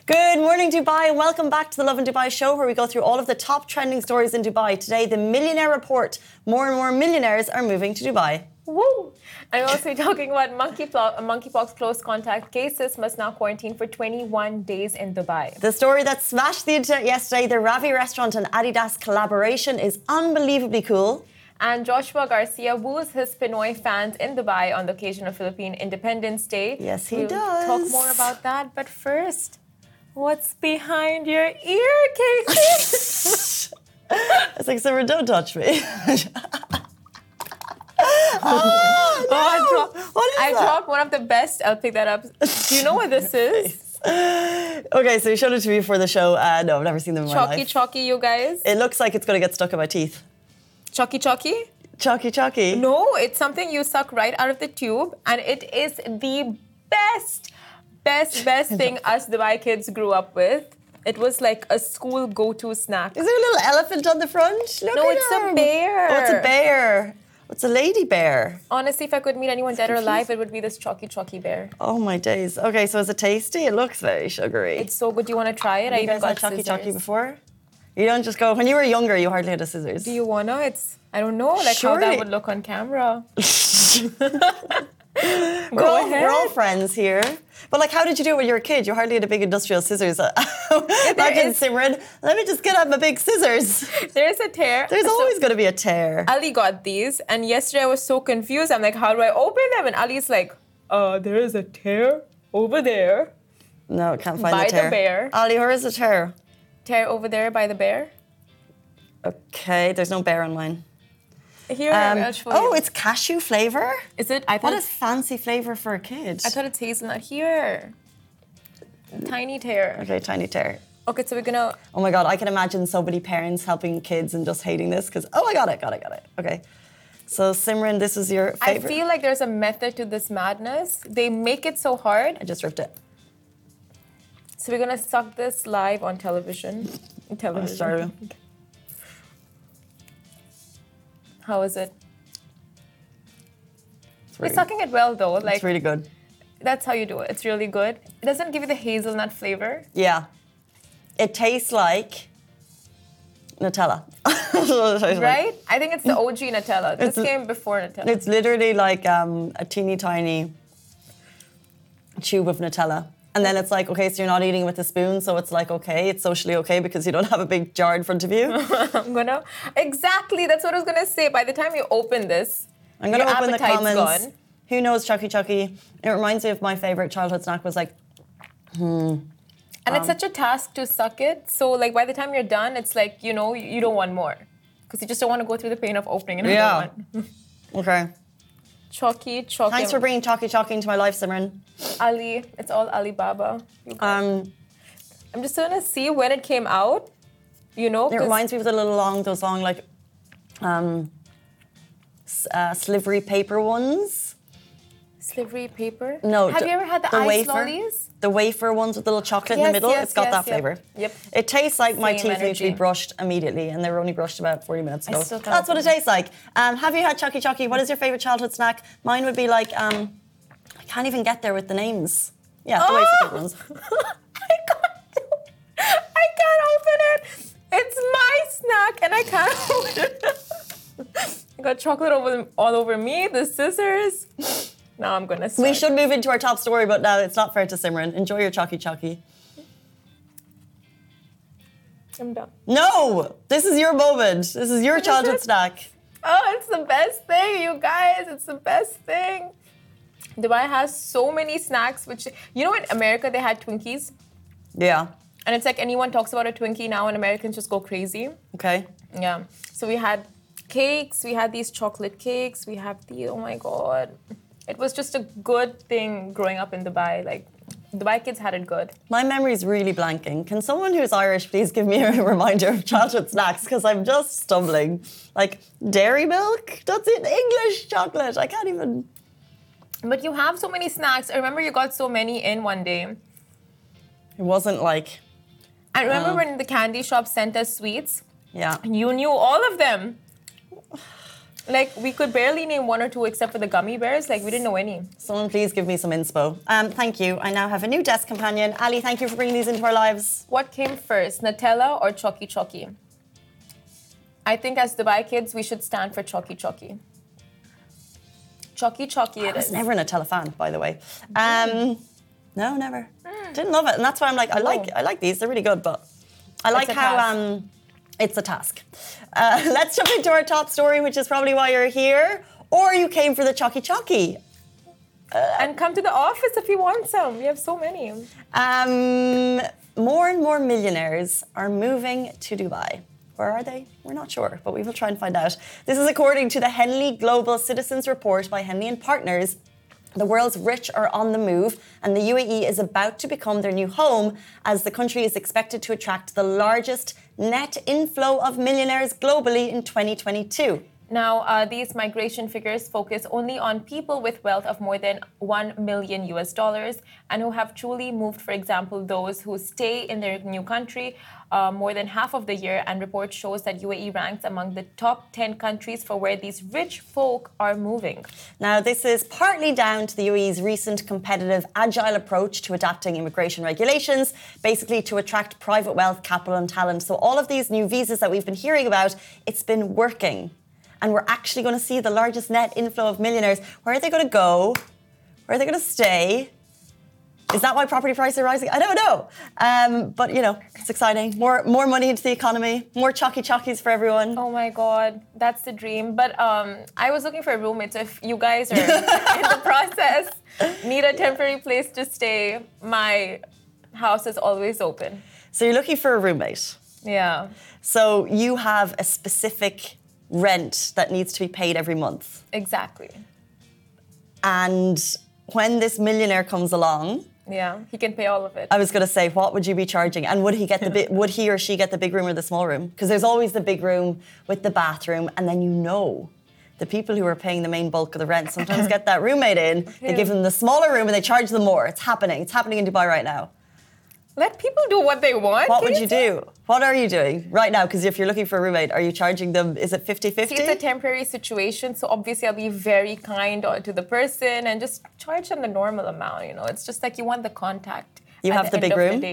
Good morning, Dubai. Welcome back to the Love in Dubai show, where we go through all of the top trending stories in Dubai. Today, the Millionaire Report. More and more millionaires are moving to Dubai. Woo! And we're also talking about monkeypox close contact cases must now quarantine for 21 days in Dubai. The story that smashed the internet yesterday, the Ravi restaurant and Adidas collaboration, is unbelievably cool. And Joshua Garcia woos his Pinoy fans in Dubai on the occasion of Philippine Independence Day. Yes, he we'll does. Talk more about that, but first, what's behind your ear, Casey? It's like, Simran, don't touch me. I dropped one of the best. I'll pick that up. Do you know what this is? Okay, so you showed it to me before the show. No, I've never seen them in my life. Chalky, you guys. It looks like it's going to get stuck in my teeth. Chalky? Chalky? No, it's something you suck right out of the tube, and it is the best thing us Dubai kids grew up with. It was like a school go-to snack. Is there a little elephant on the front? Look No, at it's him. a bear. Oh, it's a bear. It's a lady bear. Honestly, if I could meet anyone dead or alive, it would be this chalky bear. Oh my days. Okay, so is it tasty? It looks very sugary. It's so good. Do you want to try it? Have you guys had chalky before? You don't just go, when you were younger, you hardly had a scissors. Do you want to? I don't know, like Surely. how that would look on camera. We're all friends here. But like, how did you do it when you were a kid? You hardly had a big industrial scissors. Imagine Simran, let me just get out my big scissors. There's a tear. There's always going to be a tear. Ali got these, and yesterday I was so confused. I'm like, how do I open them? And Ali's like, there is a tear over there. No, can't find by the tear. the bear. Ali, where is the tear? Tear over there by the bear. Okay, there's no bear on mine. Here, I'll show you. Oh, it's cashew flavour? Is it? I thought What a fancy flavour for a kid. I thought it's hazelnut. Here. Tiny tear. Okay, tiny tear. Okay, so we're gonna... Oh my God, I can imagine so many parents helping kids and just hating this because, oh, I got it. Okay. So Simran, this is your favourite. I feel like there's a method to this madness. They make it so hard. I just ripped it. So we're gonna suck this live on television. Oh, sorry. How is it? You're sucking it well though. Like, it's really good. That's how you do it. It's really good. It doesn't give you the hazelnut flavor. Yeah. It tastes like Nutella. Right? I think it's the OG Nutella. This came before Nutella. It's literally like a teeny tiny tube of Nutella. And then it's like, okay, so you're not eating with a spoon, so it's like, okay, it's socially okay because you don't have a big jar in front of you. Exactly, that's what I was gonna say. By the time you open this, I'm gonna open the comments. Gone. Who knows Chucky? It reminds me of my favorite childhood snack was like, And it's such a task to suck it. So like by the time you're done, it's like, you don't want more. Because you just don't want to go through the pain of opening another one. Okay. Chalky. Thanks for bringing Chalky into my life, Simran. Ali, it's all Alibaba. I'm just gonna see when it came out. It reminds me of those long like slivery paper ones. Slivery paper? No. Have you ever had the ice wafer, lollies? The wafer ones with the little chocolate in the middle. It's got that flavour. Yep. It tastes like my teeth energy. need to be brushed immediately, and they were only brushed about 40 minutes ago. still can't That's what it tastes like. Have you had Chucky? What is your favourite childhood snack? Mine would be like, I can't even get there with the names. Yeah, the wafer paper ones. I can't open it. It's my snack, and I can't open it. I got chocolate all over me, the scissors. Now I'm gonna start. We should move into our top story, but no, it's not fair to Simran. Enjoy your Chucky. I'm done. No! This is your moment. This is your childhood snack. Oh, it's the best thing, you guys. It's the best thing. Dubai has so many snacks, which... in America, they had Twinkies. Yeah. And it's like anyone talks about a Twinkie now and Americans just go crazy. Okay. Yeah. So we had cakes. We had these chocolate cakes. We have oh my God. It was just a good thing growing up in Dubai. Like, Dubai kids had it good. My memory's really blanking. Can someone who's Irish please give me a reminder of childhood snacks? Because I'm just stumbling. Like, dairy milk? That's it. English chocolate. I can't even... But you have so many snacks. I remember you got so many in one day. It wasn't like... I remember when the candy shop sent us sweets. Yeah. You knew all of them. Like, we could barely name one or two except for the gummy bears. Like, we didn't know any. Someone please give me some inspo. Thank you. I now have a new desk companion. Ali, thank you for bringing these into our lives. What came first, Nutella or Chocky Chocky? I think as Dubai kids, we should stand for Chocky Chocky. Chocky Chocky it is. I was never a Nutella fan, by the way. No, never. Didn't love it. And that's why I'm like, I like these. They're really good, but I like how it's a task. Let's jump into our top story, which is probably why you're here. Or you came for the Chocky Chocky. And come to the office if you want some. We have so many. More and more millionaires are moving to Dubai. Where are they? We're not sure, but we will try and find out. This is according to the Henley Global Citizens Report by Henley & Partners. The world's rich are on the move, and the UAE is about to become their new home as the country is expected to attract the largest net inflow of millionaires globally in 2022. Now, these migration figures focus only on people with wealth of more than $1 million and who have truly moved, for example, those who stay in their new country more than half of the year. And report shows that UAE ranks among the top 10 countries for where these rich folk are moving. Now, this is partly down to the UAE's recent competitive, agile approach to adapting immigration regulations, basically to attract private wealth, capital and talent. So all of these new visas that we've been hearing about, it's been working. And we're actually going to see the largest net inflow of millionaires. Where are they going to go? Where are they going to stay? Is that why property prices are rising? I don't know. But, you know, it's exciting. More money into the economy. More Chocky Chockies for everyone. Oh, my God. That's the dream. But I was looking for a roommate. So if you guys are in the process, need a temporary place to stay, my house is always open. So you're looking for a roommate. Yeah. So you have a specific rent that needs to be paid every month. Exactly. And when this millionaire comes along, yeah, he can pay all of it. I was going to say, what would you be charging? And would he get would he or she get the big room or the small room? Because there's always the big room with the bathroom, and then the people who are paying the main bulk of the rent sometimes get that roommate in. They give them the smaller room and they charge them more. It's happening. It's happening in Dubai right now. Let people do what they want. What would you do? What are you doing right now? Because if you're looking for a roommate, are you charging them, is it 50-50? See, it's a temporary situation, so obviously I'll be very kind to the person and just charge them the normal amount, you know. It's just like you want the contact. You have the big room?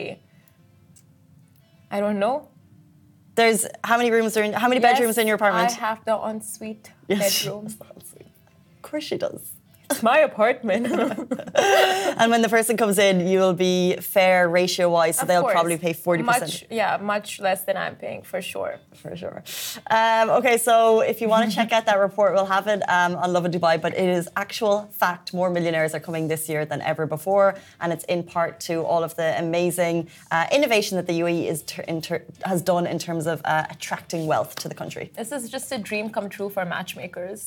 I don't know. There's, how many bedrooms in your apartment? I have the ensuite bedroom. Of course she does. It's my apartment. And when the person comes in, you'll be fair ratio-wise, so they'll probably pay 40%. Much less than I'm paying, for sure. For sure. Okay, so if you want to check out that report, we'll have it on Lovin Dubai, but it is actual fact. More millionaires are coming this year than ever before, and it's in part to all of the amazing innovation that the UAE has done in terms of attracting wealth to the country. This is just a dream come true for matchmakers.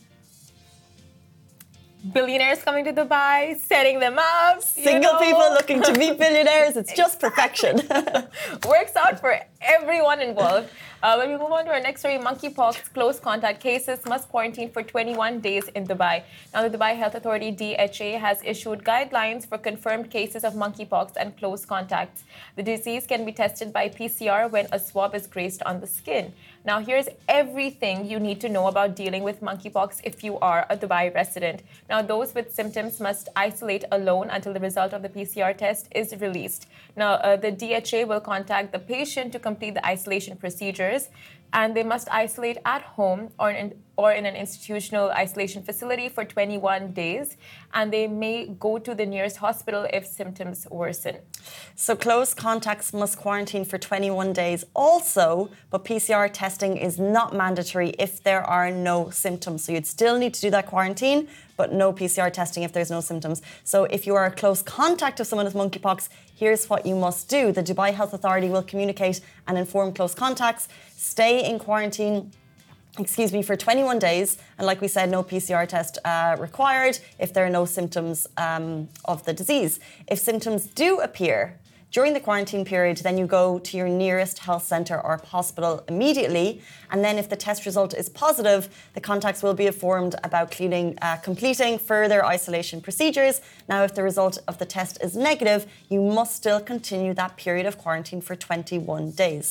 Billionaires coming to Dubai, setting them up. Single people looking to meet billionaires. It's just perfection. Works out for everyone involved. When we move on to our next story, monkeypox close contact cases must quarantine for 21 days in Dubai. Now, the Dubai Health Authority, DHA, has issued guidelines for confirmed cases of monkeypox and close contacts. The disease can be tested by PCR when a swab is grazed on the skin. Now, here's everything you need to know about dealing with monkeypox if you are a Dubai resident. Now, those with symptoms must isolate alone until the result of the PCR test is released. Now, the DHA will contact the patient to complete the isolation procedures, and they must isolate at home or in an institutional isolation facility for 21 days, and they may go to the nearest hospital if symptoms worsen. So close contacts must quarantine for 21 days also, but PCR testing is not mandatory if there are no symptoms. So you'd still need to do that quarantine, but no PCR testing if there's no symptoms. So if you are a close contact of someone with monkeypox, here's what you must do. The Dubai Health Authority will communicate and inform close contacts, stay in quarantine for 21 days. And like we said, no PCR test required if there are no symptoms of the disease. If symptoms do appear during the quarantine period, then you go to your nearest health centre or hospital immediately. And then if the test result is positive, the contacts will be informed about completing further isolation procedures. Now, if the result of the test is negative, you must still continue that period of quarantine for 21 days.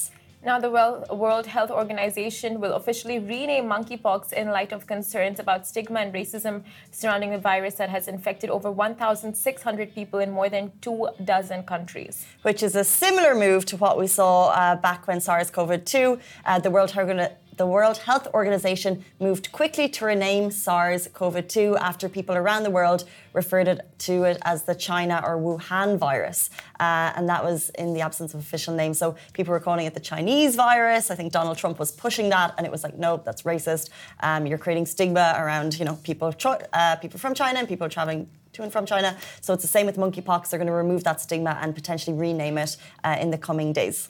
Now, the World Health Organization will officially rename monkeypox in light of concerns about stigma and racism surrounding the virus that has infected over 1,600 people in more than 24 countries. Which is a similar move to what we saw back when SARS-CoV-2, the World Health Organization moved quickly to rename SARS-CoV-2 after people around the world referred to it as the China or Wuhan virus. And that was in the absence of official names. So people were calling it the Chinese virus. I think Donald Trump was pushing that, and it was like, nope, that's racist. You're creating stigma around, people from China and people traveling to and from China. So it's the same with monkeypox. They're going to remove that stigma and potentially rename it in the coming days.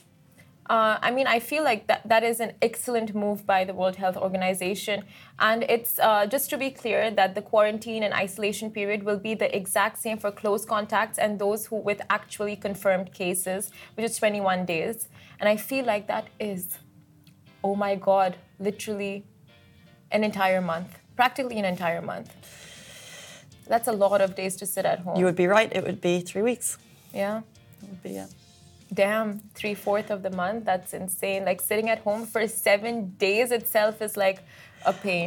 I feel like that is an excellent move by the World Health Organization. And it's just to be clear that the quarantine and isolation period will be the exact same for close contacts and those who with actually confirmed cases, which is 21 days. And I feel like that is, oh my God, literally an entire month, practically an entire month. That's a lot of days to sit at home. You would be right. It would be 3 weeks. Yeah. It would be, yeah. Damn, 3/4 of the month. That's insane. Like sitting at home for 7 days itself is like a pain.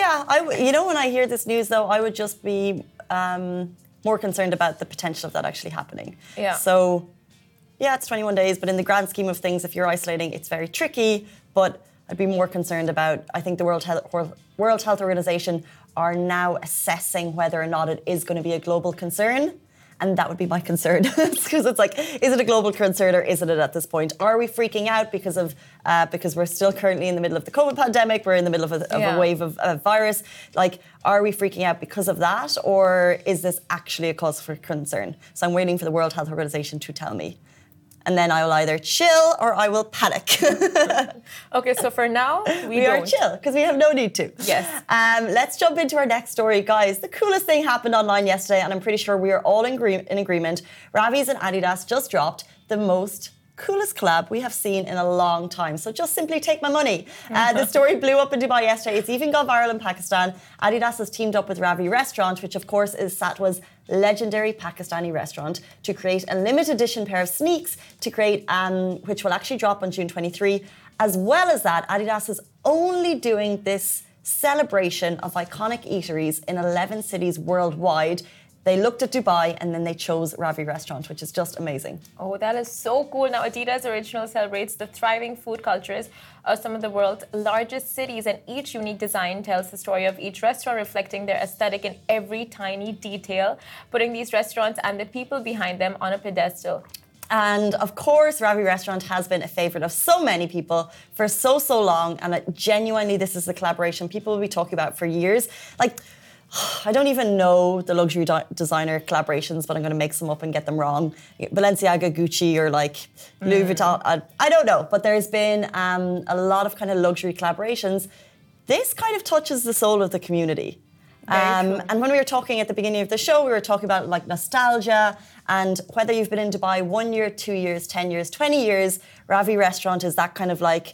When I hear this news, though, I would just be more concerned about the potential of that actually happening. Yeah. So, yeah, it's 21 days, but in the grand scheme of things, if you're isolating, it's very tricky. But I'd be more concerned about, I think the World Health Organization are now assessing whether or not it is going to be a global concern. And that would be my concern, because it's like, is it a global concern or isn't it at this point? Are we freaking out because we're still currently in the middle of the COVID pandemic? We're in the middle of a wave of virus. Like, are we freaking out because of that, or is this actually a cause for concern? So I'm waiting for the World Health Organization to tell me. And then I will either chill or I will panic. Okay, so for now, we are chill because we have no need to. Yes. Let's jump into our next story, guys. The coolest thing happened online yesterday, and I'm pretty sure we are all in agreement. Ravi's and Adidas just dropped the most coolest collab we have seen in a long time. So just simply take my money. The story blew up in Dubai yesterday. It's even gone viral in Pakistan. Adidas has teamed up with Ravi Restaurant, which of course is Satwa's legendary Pakistani restaurant, to create a limited edition pair of sneaks which will actually drop on June 23. As well as that, Adidas is only doing this celebration of iconic eateries in 11 cities worldwide. They looked at Dubai and then they chose Ravi Restaurant, which is just amazing. Oh, that is so cool. Now, Adidas Original celebrates the thriving food cultures of some of the world's largest cities, and each unique design tells the story of each restaurant, reflecting their aesthetic in every tiny detail, putting these restaurants and the people behind them on a pedestal. And of course, Ravi Restaurant has been a favorite of so many people for so long. And genuinely, this is a collaboration people will be talking about for years. Like, I don't even know the luxury designer collaborations, but I'm going to make some up and get them wrong. Balenciaga, Gucci, or like Louis Vuitton. I don't know, but there's been a lot of kind of luxury collaborations. This kind of touches the soul of the community. And when we were talking at the beginning of the show, we were talking about like nostalgia and whether you've been in Dubai 1 year, 2 years, 10 years, 20 years, Ravi Restaurant is that kind of like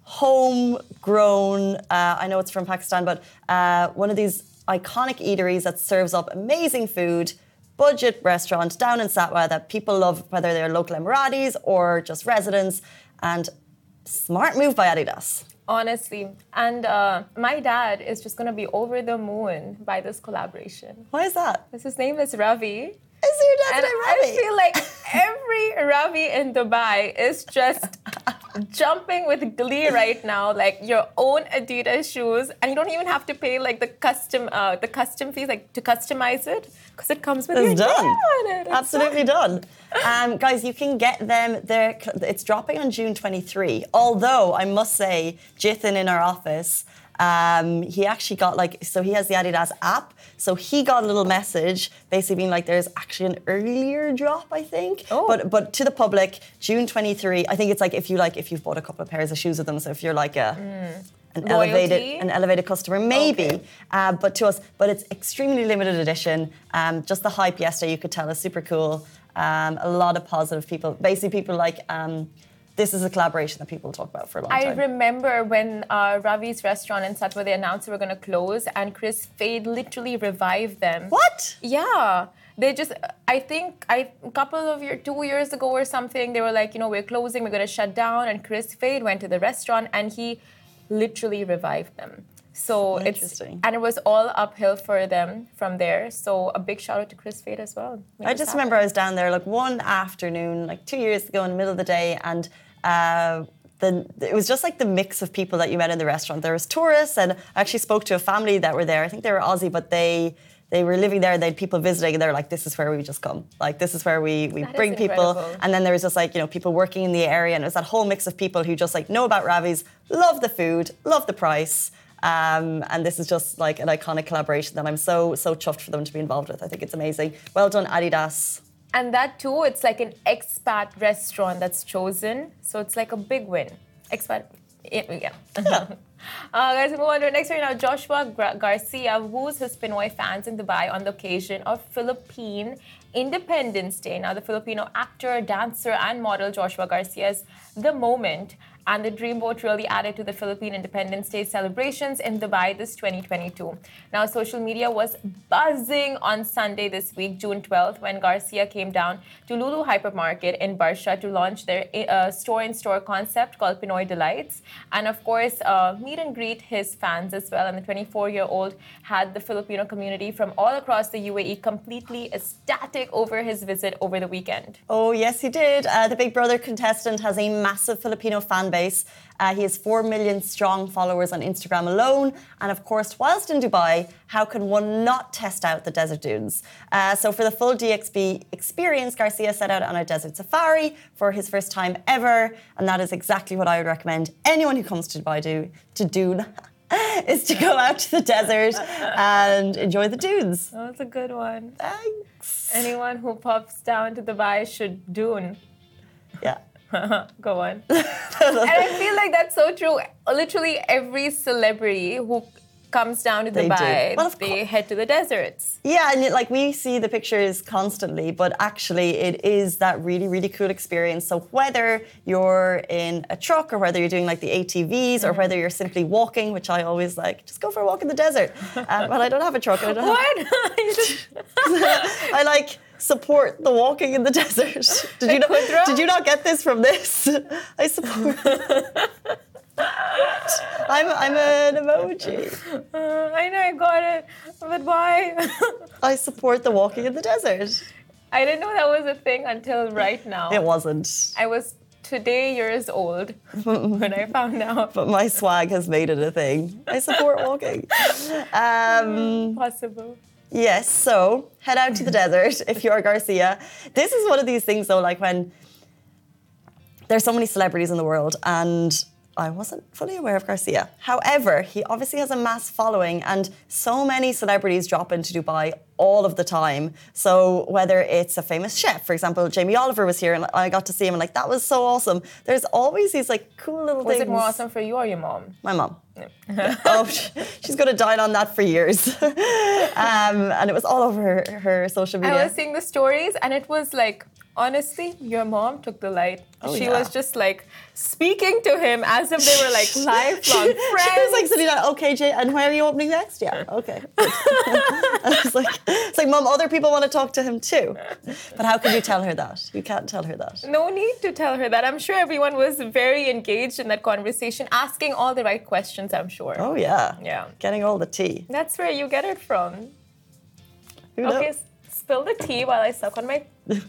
homegrown, I know it's from Pakistan, but one of these iconic eateries that serves up amazing food, budget restaurant down in Satwa that people love, whether they're local Emiratis or just residents, and smart move by Adidas. Honestly. And my dad is just going to be over the moon by this collaboration. Why is that? Because his name is Ravi. Is your dad's name Ravi? I feel like every Ravi in Dubai is just jumping with glee right now. Like your own Adidas shoes, and you don't even have to pay like the custom fees, like to customize it, because it comes with your done. Name on it. Absolutely done. Guys, you can get them there. It's dropping on June 23. Although I must say, Jithan in our office, he actually got he has the Adidas app, so he got a little message basically being like there's actually an earlier drop, I think. Oh. But to the public, June 23. I think it's like if you've bought a couple of pairs of shoes with them, so if you're like an elevated customer, maybe. Okay. But it's extremely limited edition. Just the hype yesterday, you could tell, is super cool. A lot of positive people. Basically, people like. This is a collaboration that people talk about for a long time. I remember when Ravi's restaurant in Satwa, they announced they were going to close, and Chris Fade literally revived them. What? Yeah. They just, I think, a couple of 2 years ago or something, they were like, we're closing, we're going to shut down. And Chris Fade went to the restaurant and he literally revived them. So and it was all uphill for them from there. So a big shout out to Chris Fade as well. I just remember I was down there like one afternoon, like 2 years ago in the middle of the day, and it was just like the mix of people that you met in the restaurant. There was tourists, and I actually spoke to a family that were there. I think they were Aussie, but they were living there. They had people visiting, and they're like, "This is where we just come. Like, this is where we bring people." And then there was just like people working in the area, and it was that whole mix of people who just like know about Ravi's, love the food, love the price. And this is just like an iconic collaboration that I'm so chuffed for them to be involved with. I think it's amazing. Well done, Adidas. And that too, it's like an expat restaurant that's chosen. So it's like a big win. Expat, yeah. Guys, we move on to our next story now. Joshua Garcia woos his Pinoy fans in Dubai on the occasion of Philippine Independence Day. Now, the Filipino actor, dancer, and model Joshua Garcia's The Moment and the Dreamboat really added to the Philippine Independence Day celebrations in Dubai this 2022. Now, social media was buzzing on Sunday this week, June 12th, when Garcia came down to Lulu Hypermarket in Barsha to launch their store-in-store concept called Pinoy Delights. And of course, meet and greet his fans as well. And the 24-year-old had the Filipino community from all across the UAE completely ecstatic over his visit over the weekend. Oh, yes, he did. The Big Brother contestant has a massive Filipino fan base. He has 4 million strong followers on Instagram alone. And of course, whilst in Dubai, how can one not test out the desert dunes? So for the full DXB experience, Garcia set out on a desert safari for his first time ever. And that is exactly what I would recommend anyone who comes to Dubai to do. Is to go out to the desert and enjoy the dunes. Oh, that's a good one. Thanks. Anyone who pops down to Dubai should dune. Yeah. Go on. And I feel like that's so true. Literally every celebrity who comes down to Dubai, they head to the deserts. Yeah, and like we see the pictures constantly, but actually it is that really, really cool experience. So whether you're in a truck or whether you're doing like the ATVs or whether you're simply walking, which I always like, just go for a walk in the desert. But I don't have a truck. I don't I like support the walking in the desert. Did you not get this from this? I support. I'm an emoji. I know, I got it. But why? I support the walking in the desert. I didn't know that was a thing until right now. It wasn't. I was today years old when I found out. But my swag has made it a thing. I support walking. Possible. Yes, so head out to the desert if you're Garcia. This is one of these things though, like when there's so many celebrities in the world and I wasn't fully aware of Garcia. However, he obviously has a mass following and so many celebrities drop into Dubai all of the time. So whether it's a famous chef, for example, Jamie Oliver was here and I got to see him and like, that was so awesome. There's always these like cool little things. Was it more awesome for you or your mom? My mom. Oh, she's going to dine on that for years. And it was all over her social media. I was seeing the stories and it was like, honestly, your mom took the light. She was just like speaking to him as if they were like lifelong friends. She was like sitting down, okay, Jay, and where are you opening next? Yeah, okay. It's like, Mom, other people want to talk to him too. But how can you tell her that? You can't tell her that. No need to tell her that. I'm sure everyone was very engaged in that conversation, asking all the right questions, I'm sure. Oh, yeah. Yeah. Getting all the tea. That's where you get it from. Who knows? Okay, spill the tea while I suck on my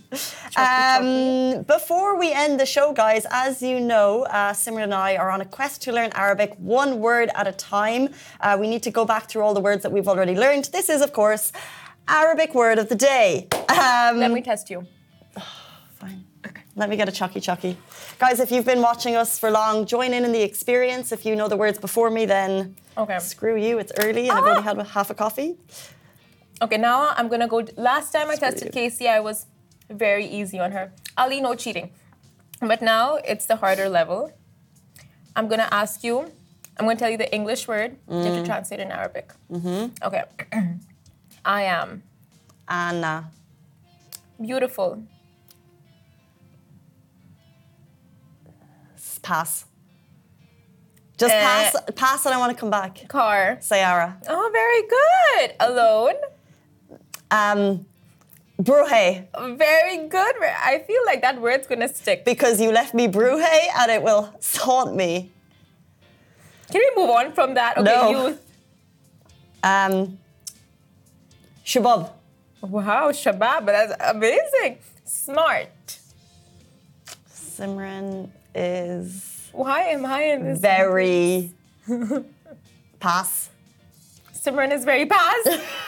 Before we end the show, guys, as you know, Simran and I are on a quest to learn Arabic one word at a time. We need to go back through all the words that we've already learned. This is, of course, Arabic word of the day. Let me test you. Fine. Let me get a chucky. Guys, if you've been watching us for long, join in the experience. If you know the words before me, then screw you. It's early and I've only had half a coffee. Okay, now I'm going to go. Last time I tested Casey, I was very easy on her. Ali, no cheating. But now it's the harder level. I'm going to ask you, I'm going to tell you the English word. You have to translate in Arabic. Okay. I am. Anna. Beautiful. Pass. Just pass and I want to come back. Car. Sayara. Oh, very good. Alone. Bruhe. Very good. I feel like that word's gonna stick. Because you left me Bruhe and it will haunt me. Can we move on from that? Okay, No. youth. Shabab. Wow, Shabab, that's amazing. Smart. Simran is Why am I in this? very pass. Simran is very past.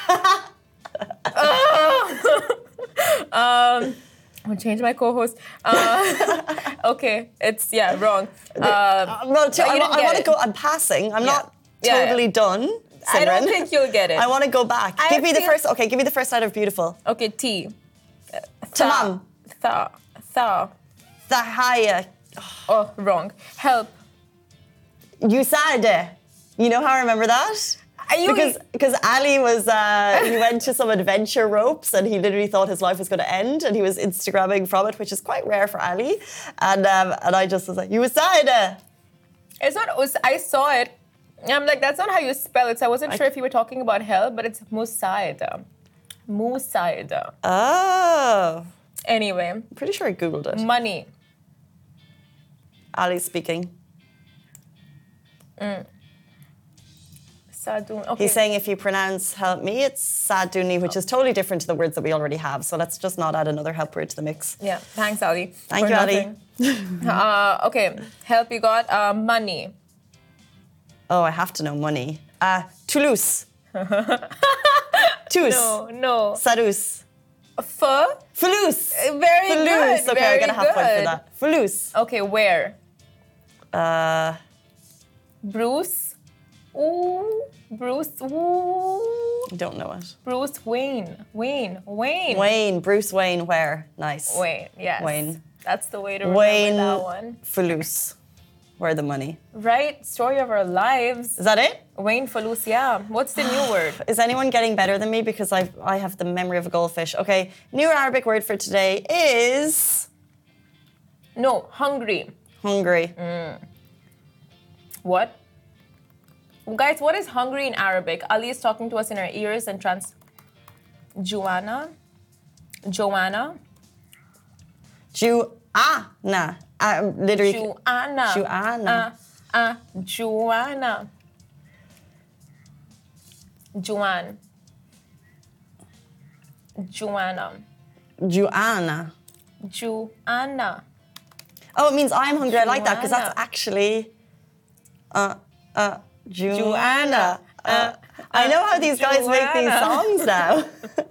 I'll change my co-host. Okay, it's wrong. I want to go. I'm passing. I'm not totally done. Simran. I don't think you'll get it. I want to go back. Give me the first. Okay, give me the first side of beautiful. Okay, T. Tamam. Tha. Thahaya. Oh, wrong. Help. Usade. You know how I remember that? Because Ali was, he went to some adventure ropes and he literally thought his life was going to end and he was Instagramming from it, which is quite rare for Ali. And I just was like, Usade. It's not, I saw it. I'm like, that's not how you spell it. So I wasn't sure if you were talking about help, but it's Musaida. Musaida. Oh. Anyway. I'm pretty sure I Googled it. Money. Ali speaking. Sadun. Okay. He's saying if you pronounce help me, it's Saduni, which is totally different to the words that we already have. So let's just not add another help word to the mix. Yeah. Thanks, Ali. Thank you, Ali. Okay. Help you got money. Oh, I have to know money. Toulouse. Tous. No. Sarus. Toulouse. Very Toulouse. good. Okay, very I get a half point for good. that. Toulouse. Okay, where? Bruce. Bruce. Ooh. Don't know it. Bruce Wayne. Wayne. Bruce Wayne. Where? Nice. Wayne. Yes. Wayne. That's the way to remember Wayne. that one. Toulouse. Where the money? Right. Story of our lives. Is that it? Wayne Falus. Yeah. What's the new word? Is anyone getting better than me? Because I have the memory of a goldfish. Okay. New Arabic word for today is No. Hungry. hungry. What? Guys, what is hungry in Arabic? Ali is talking to us in our ears and Joanna. Juana. Literally. Joanna. Joanna. Joanna. Joanne. Joanna. Joanna. Joanna. Oh, it means I'm hungry. I like that because that's Joanna. actually Joanna. I know how these guys make these Joanna. songs now.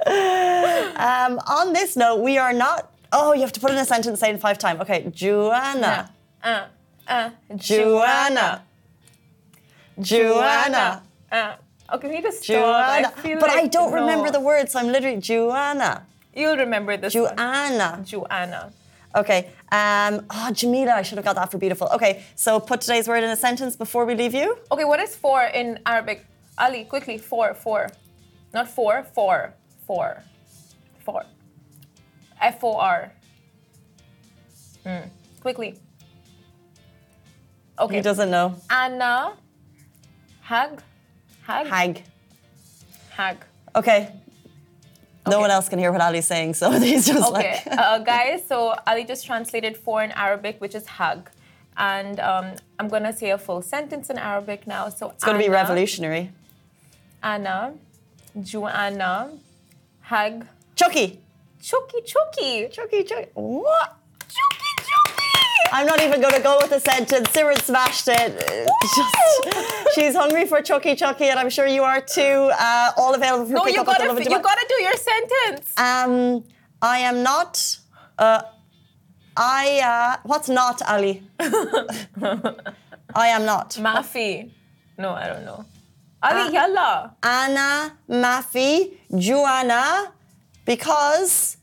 On this note, we are not. Oh, you have to put in a sentence, say it 5 times. Okay, Joanna. Joanna. Joanna. Okay, we need to stop. Joanna. I feel But like, I don't no. remember the words, so I'm literally Joanna. You'll remember this one. Joanna. Joanna. Okay. Jamila, I should have got that for beautiful. Okay, so put today's word in a sentence before we leave you. Okay, what is four in Arabic? Ali, quickly. Four. Not four. Four. F-O-R. Quickly. Okay. He doesn't know. Anna. Hag. Hag. Okay. Okay. No one else can hear what Ali's saying, so he's just Okay, like... guys, so Ali just translated four in Arabic, which is hag. And I'm going to say a full sentence in Arabic now. So It's going to be revolutionary. Anna, Joanna, hag, Chucky. Chucky. Chucky. What? Chucky. I'm not even going to go with the sentence. Simran smashed it. She's hungry for Chucky, and I'm sure you are too. All available for pick up at the Lovin you gotta do your sentence. I am not. What's not, Ali? I am not. Mafi. No, I don't know. Ali, yalla. Anna, Mafi, Joanna, because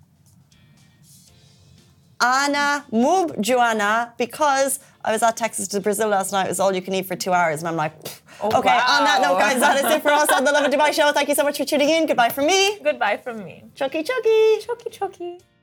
Anna, Mub, Joanna, because I was at Texas to Brazil last night. It was all you can eat for 2 hours. And I'm like, okay, wow. On that note, guys, that is it for us on the Lovin Dubai show. Thank you so much for tuning in. Goodbye from me. Goodbye from me. Chucky. Chucky.